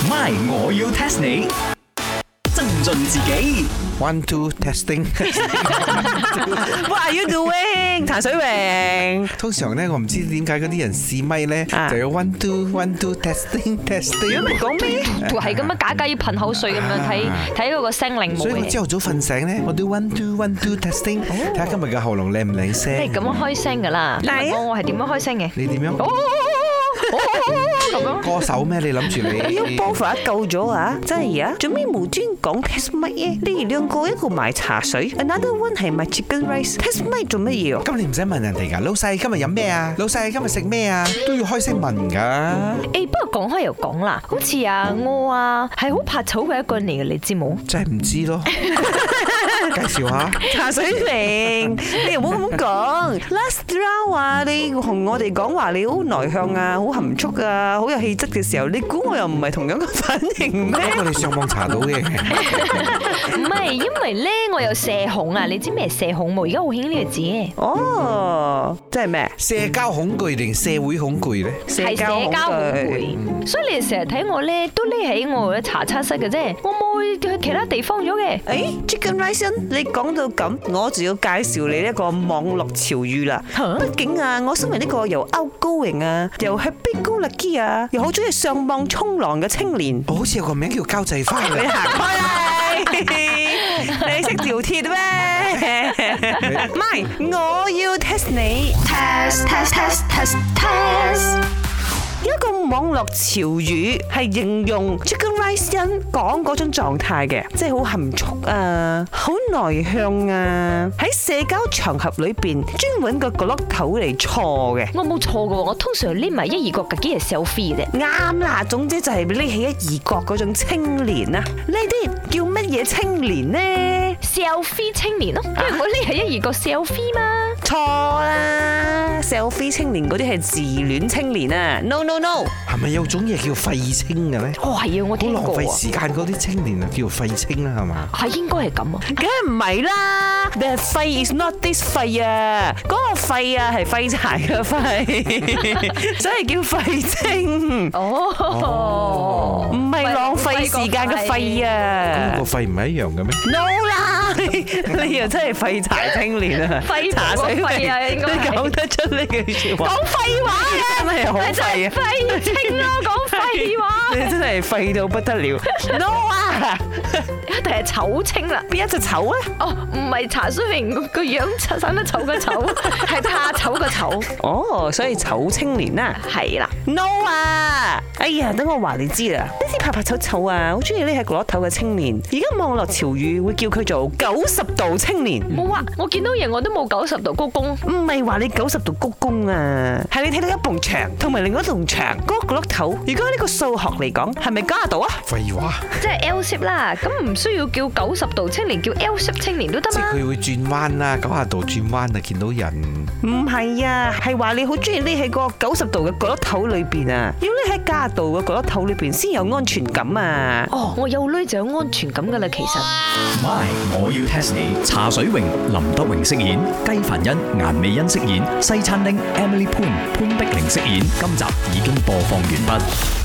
My， 我要 test 你。增進自己。 One two testing。 What are you doing？ 茶水榮。 通常咧，我唔知點解嗰啲人試咪咧，就有 one two testing。 如果咪講咩？ 係咁樣假要噴口水咁樣睇嗰個聲令所以我朝頭早瞓醒咧，我都 one two testing， 睇下今日嘅喉嚨靚唔靚聲。 係咁樣開聲㗎啦。我係點樣開聲嘅？ 你點樣？ 咁樣歌手咩？你諗住你要波佛救咗啊！真係啊！做咩無端講 test 乜嘢？你哋兩個一個賣茶水 ，another one 係賣 chicken rice。test 乜做乜嘢啊？ 咁你唔使問人哋㗎，老細今日飲咩啊？老細今日食咩啊？都要開聲問㗎。 不過講開又講啦，好似我係好怕醜嘅一個人嚟嘅，你知冇？ 真係唔知咯。介紹下茶水榮，你又唔好咁講。Last round 啊，你同我哋講話你好內向啊，好含蓄啊，好有氣質嘅時候，你估我又唔係同樣嘅反應咩？ 我哋上網查到嘅。 唔係，因為咧我有社恐啊，你知咩社恐冇？而家好興呢個字。 哦，即係咩？ 社交恐懼定社會恐懼咧？ 係社交恐懼，所以你哋成日睇我咧都匿喺我嘅茶餐室嘅啫，我冇去其他地方咗嘅。 Chicken rice， 你講到咁，我就要介紹你一個網絡潮語啦。畢竟我身為呢個又 outgoing 啊，又 happy-go-lucky 啊，又好中意上網衝浪嘅青年， 我好似有個名叫交際花嘅。 你行開啦！你識條鐵咩？唔係，我要 test 你。一個網絡潮語係形容 Chicken Rice 人講嗰種狀態嘅，即係好含蓄啊，好內向啊，喺社交場合裏邊專揾個角落頭嚟坐嘅。 我冇錯嘅喎，我通常匿埋一二角，幾係 selfie 嘅啫。 啱啦，總之就係匿起一二角嗰種青年啊！呢啲叫乜嘢青年呢？ selfie 青年咯，因為我匿喺一二角 selfie 嘛。 錯啦 ，selfie 青年嗰啲係自戀青年啊 ！No no no， 係咪有種嘢叫廢青嘅咧？ 哦係啊，我聽過啊。 好浪費時間嗰啲青年啊，叫廢青啦，係嘛？ 係應該係咁啊。 梗係唔係啦，你係廢 is not this 廢啊，嗰個廢啊係廢柴嘅廢，所以叫廢青。 哦， 唔係浪費時間嘅廢啊。 個廢唔係一樣嘅咩 ？No 啦，你又真係廢柴青年啊！ 廢茶水廢啊，應該你講得出呢句説話。講廢話啊！真係好廢啊！ 廢青咯，講廢話。 你真係廢到不得了。No 啊！ 一定係醜青啦。 邊一隻醜啊？ 哦，唔係茶水榮個樣生得醜個醜，係怕醜個醜。 哦，所以醜青年啊， 係啦。 No 啊！哎呀，等我話你知啦，呢啲怕怕醜醜啊，好中意匿喺角落頭嘅青年，而家網絡潮語會叫佢做90度青年。 冇啊，我見到嘢我都冇90度鞠躬。 唔係話你90度鞠躬啊，係你睇到一埲牆同埋另一棟牆嗰個角落頭。如果呢個數學嚟講，係咪90度啊？ 廢話。 即係 L shape 啦，咁唔需要叫90度青年，叫 L shape 青年都得嘛。 即係佢會轉彎啦，90度轉彎啊，見到人。 唔係啊，係話你好中意匿喺個90度嘅角落頭裏邊啊，要匿喺90度嘅角落頭裏邊先有安全感啊。 哦，我有女就有安全感噶啦，其實。 My， 我要 test 你。茶水榮、林德榮飾演，雞凡欣、顏美欣飾演，西餐廳 Emily Poon 潘碧玲飾演。今集已經播放完畢。